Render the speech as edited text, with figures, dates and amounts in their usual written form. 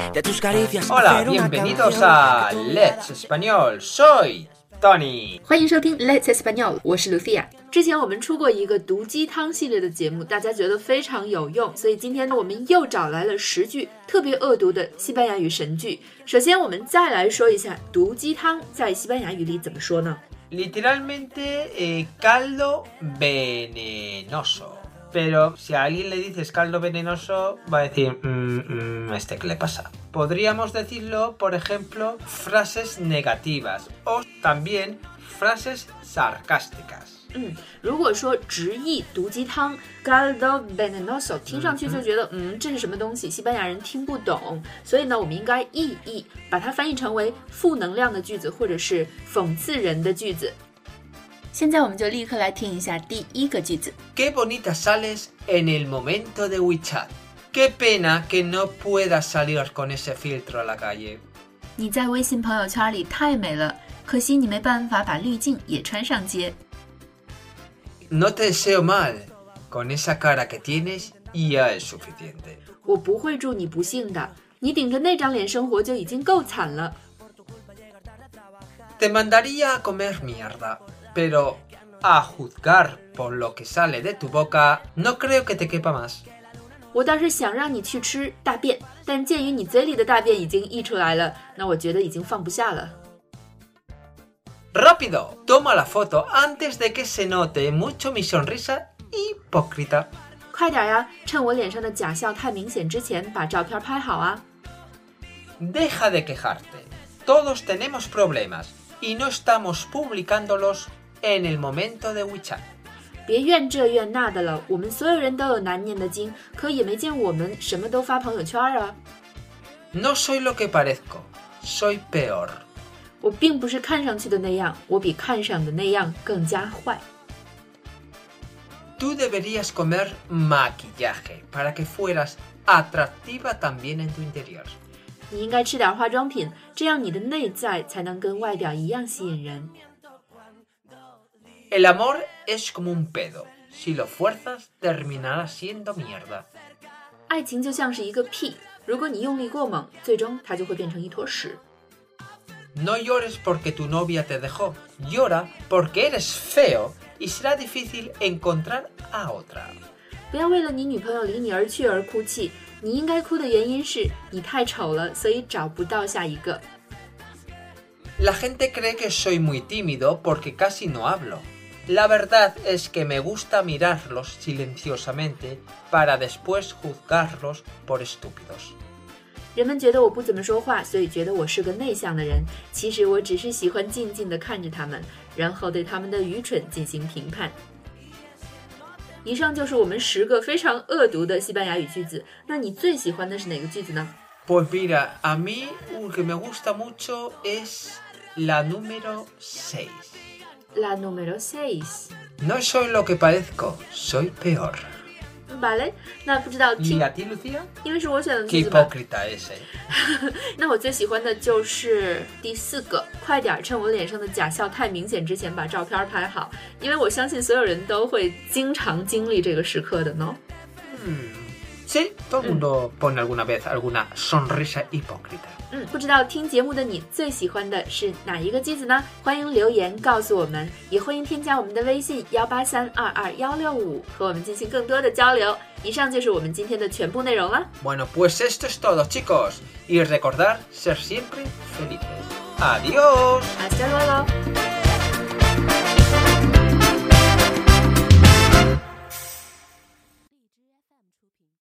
de tus caricias. Hola, bienvenidos a Let's Español. Soy Tony。 欢迎收听 Let's Español， 我是 Lucia。之前我们出过一个毒鸡汤系列的节目，大家觉得非常有用，所以今天呢，我们又找来了10句特别恶毒的西班牙语神句。首先，我们再来说一下毒鸡汤在西班牙语里怎么说呢？ Literalmente caldo venenoso.Pero si a alguien le dices caldo venenoso, va a decir, ¿este qué le pasa? Podríamos decirlo, por ejemplo, frases negativas o también frases sarcásticas. 如果说直译毒鸡汤 caldo venenoso 听上去就觉得这是什么东西，西班牙人听不懂，所以呢我们应该意译，把它翻译成为负能量的句子或者是讽刺人的句子。现在我们就立刻来听一下第一个句子。 Qué bonita sales en el momento de WeChat. Qué pena que no puedas salir con ese filtro a la calle. 你在微信朋友圈里太美了，可惜你没办法把滤镜也穿上街。 No te deseo mal. Con esa cara que tienes ya es suficiente. 我不会祝你不幸的，你顶着那张脸生活就已经够惨了。 Te mandaría a comer mierda.Pero a juzgar por lo que sale de tu boca, no creo que te quepa más. 我倒是想让你去吃大便，但鉴于你嘴里的大便已经溢出来了，那我觉得已经放不下了。 Rápido, toma la foto antes de que se note mucho mi sonrisa hipócrita. 快点呀，趁我脸上的假笑太明显之前，把照片拍好啊。 Deja de quejarte. Todos tenemos problemas.Y no estamos publicándolos en el momento de WeChat. 别怨这怨那的了，我们所有人都有难念的经，可也没见我们什么都发朋友圈啊。 No soy lo que parezco, soy peor. 我并不是看上去的那样，我比看上的那样更加坏。 Tú deberías comer maquillaje para que fueras atractiva también en tu interior. 你应该吃点化妆品，这样你的内在才能跟外表一样吸引人。 El amor es como un pedo. Si lo fuerzas, terminará siendo mierda. 爱情就像是一个屁，如果你用力过猛，最终它就会变成一坨屎。 No llores porque tu novia te dejó. Llora porque eres feo y será difícil encontrar a otra. 不要为了你女朋友离你而去而哭泣。 你应该哭的原因是你太丑了，所以找不到下一个。 La gente cree que soy muy tímido porque casi no hablo. La verdad es que me gusta mirarlos silenciosamente para después juzgarlos por estúpidos. 人们觉得我不怎么说话，所以觉得我是个内向的人。其实我只是喜欢静静地看着他们，然后对他们的愚蠢进行评判。 以上就是我们10个非常恶毒的西班牙语句子。那你最喜欢的是哪个句子呢？ Pues mira, a mí un que me gusta mucho es la número 6. La número 6. No soy lo que parezco, soy peor. Vale, 那不知道听 ¿Y a ti, Lucía? 因为是我选的 Qué 句子吧。 hipócrita ese. 那我最喜欢的就是第4个，快点趁我脸上的假笑太明显之前把照片拍好，因为我相信所有人都会经常经历这个时刻的呢。 Sí, todo el mundo pone alguna vez alguna sonrisa hipócrita. 不知道听节目的你最喜欢的是哪一个句子呢？欢迎留言告诉我们，也欢迎添加我们的微信183222165和我们进行更多的交流。以上就是我们今天的全部内容了。 Bueno, pues esto es todo, chicos. Y recordar ser siempre felices. ¡Adiós! Hasta luego.